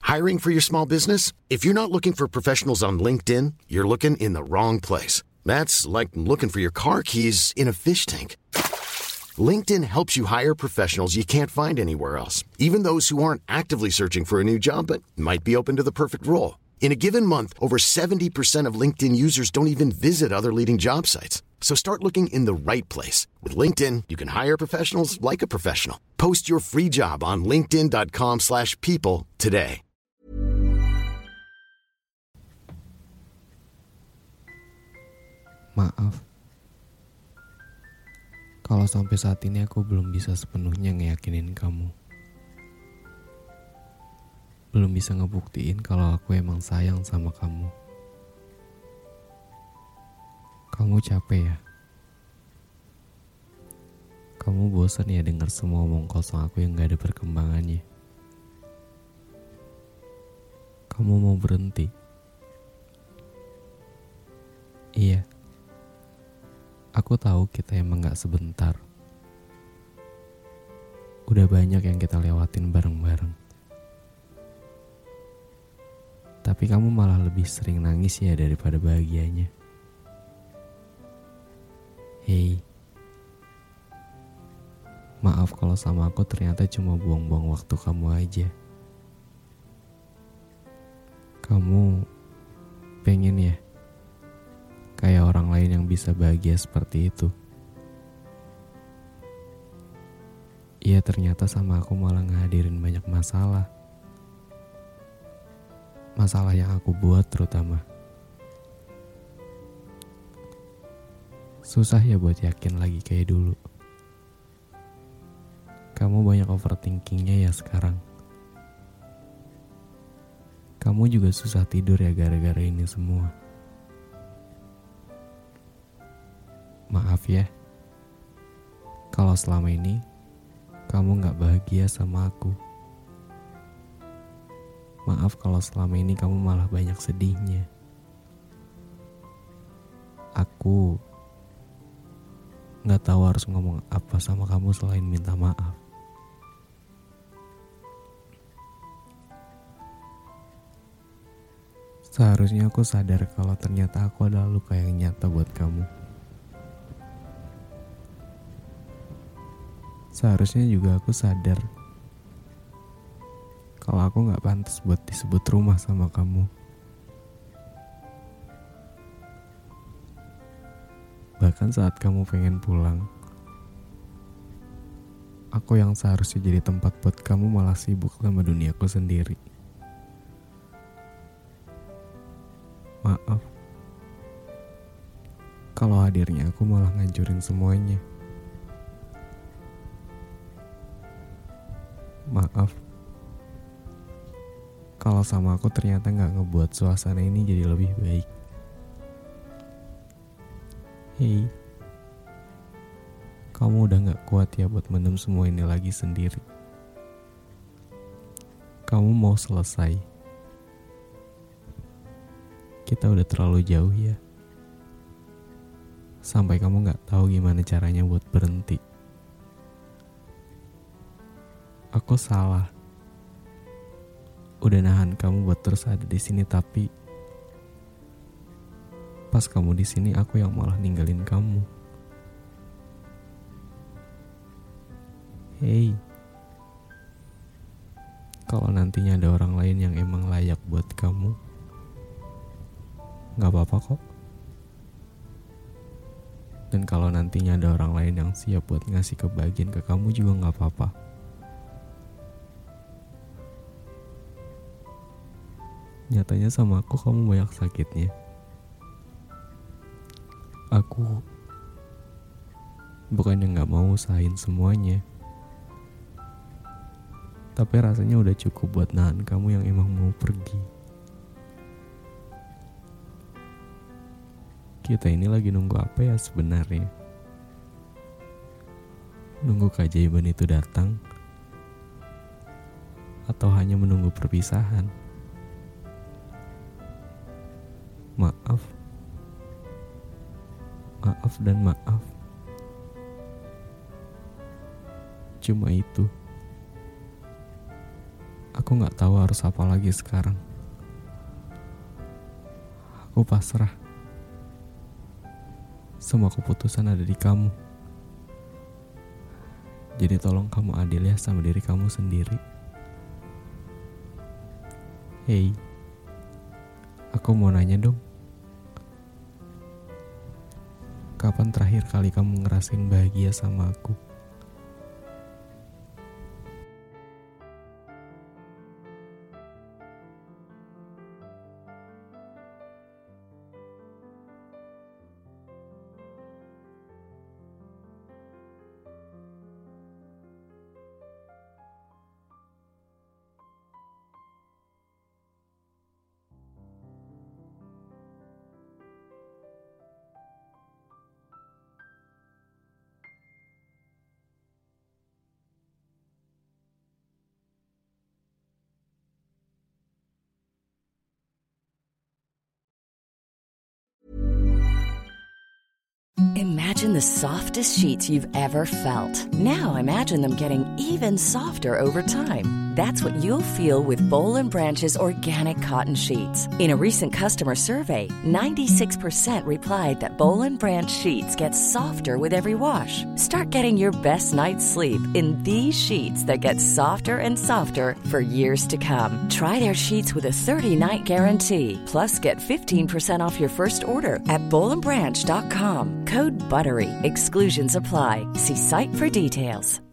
Hiring for your small business? If you're not looking for professionals on LinkedIn, you're looking in the wrong place. That's like looking for your car keys in a fish tank. LinkedIn helps you hire professionals you can't find anywhere else, even those who aren't actively searching for a new job but might be open to the perfect role. In a given month, over 70% of LinkedIn users don't even visit other leading job sites. So start looking in the right place. With LinkedIn, you can hire professionals like a professional. Post your free job on linkedin.com/people today. Maaf, kalau sampai saat ini aku belum bisa sepenuhnya ngeyakinin kamu. Belum bisa ngebuktiin kalau aku emang sayang sama kamu. Kamu capek ya? Kamu bosan ya dengar semua omong kosong aku yang gak ada perkembangannya? Kamu mau berhenti? Iya. Aku tahu kita emang gak sebentar. Udah banyak yang kita lewatin bareng-bareng. Tapi kamu malah lebih sering nangis ya daripada bahagianya. Hei, maaf kalau sama aku ternyata cuma buang-buang waktu kamu aja. Kamu pengen ya kayak orang lain yang bisa bahagia seperti itu. Iya, ternyata sama aku malah ngehadirin banyak masalah. Masalah yang aku buat terutama. Susah ya buat yakin lagi kayak dulu. Kamu banyak overthinkingnya ya sekarang. Kamu juga susah tidur ya gara-gara ini semua. Maaf ya, kalau selama ini kamu gak bahagia sama aku. Maaf kalau selama ini kamu malah banyak sedihnya. Aku gak tahu harus ngomong apa sama kamu selain minta maaf. Seharusnya aku sadar kalau ternyata aku adalah luka yang nyata buat kamu. Seharusnya juga aku sadar kalau aku gak pantas buat disebut rumah sama kamu. Bahkan saat kamu pengen pulang, aku yang seharusnya jadi tempat buat kamu malah sibuk sama duniaku sendiri. Maaf, kalau hadirnya aku malah ngancurin semuanya. Maaf, kalau sama aku ternyata gak ngebuat suasana ini jadi lebih baik. Hei, kamu udah gak kuat ya buat mendem semua ini lagi sendiri. Kamu mau selesai. Kita udah terlalu jauh ya. Sampai kamu gak tahu gimana caranya buat berhenti. Aku salah. Udah nahan kamu buat terus ada di sini, tapi pas kamu di sini aku yang malah ninggalin kamu. Hei, kalau nantinya ada orang lain yang emang layak buat kamu, gak apa-apa kok. Dan kalau nantinya ada orang lain yang siap buat ngasih kebahagiaan ke kamu juga gak apa-apa. Nyatanya sama aku kamu banyak sakitnya. Aku bukannya gak mau usahain semuanya, tapi rasanya udah cukup buat nahan kamu yang emang mau pergi. Kita ini lagi nunggu apa ya sebenarnya? Nunggu keajaiban itu datang? Atau hanya menunggu perpisahan? Maaf dan maaf. Cuma itu. Aku Aku gak tahu harus apa lagi sekarang. Aku pasrah. Semua keputusan ada di kamu. Jadi tolong kamu adil ya sama diri kamu sendiri. Hey, aku mau nanya dong. Kapan terakhir kali kamu ngerasain bahagia sama aku? Imagine the softest sheets you've ever felt. Now imagine them getting even softer over time. That's what you'll feel with Boll & Branch's organic cotton sheets. In a recent customer survey, 96% replied that Boll & Branch sheets get softer with every wash. Start getting your best night's sleep in these sheets that get softer and softer for years to come. Try their sheets with a 30-night guarantee. Plus, get 15% off your first order at bollandbranch.com. Code BUTTERY. Exclusions apply. See site for details.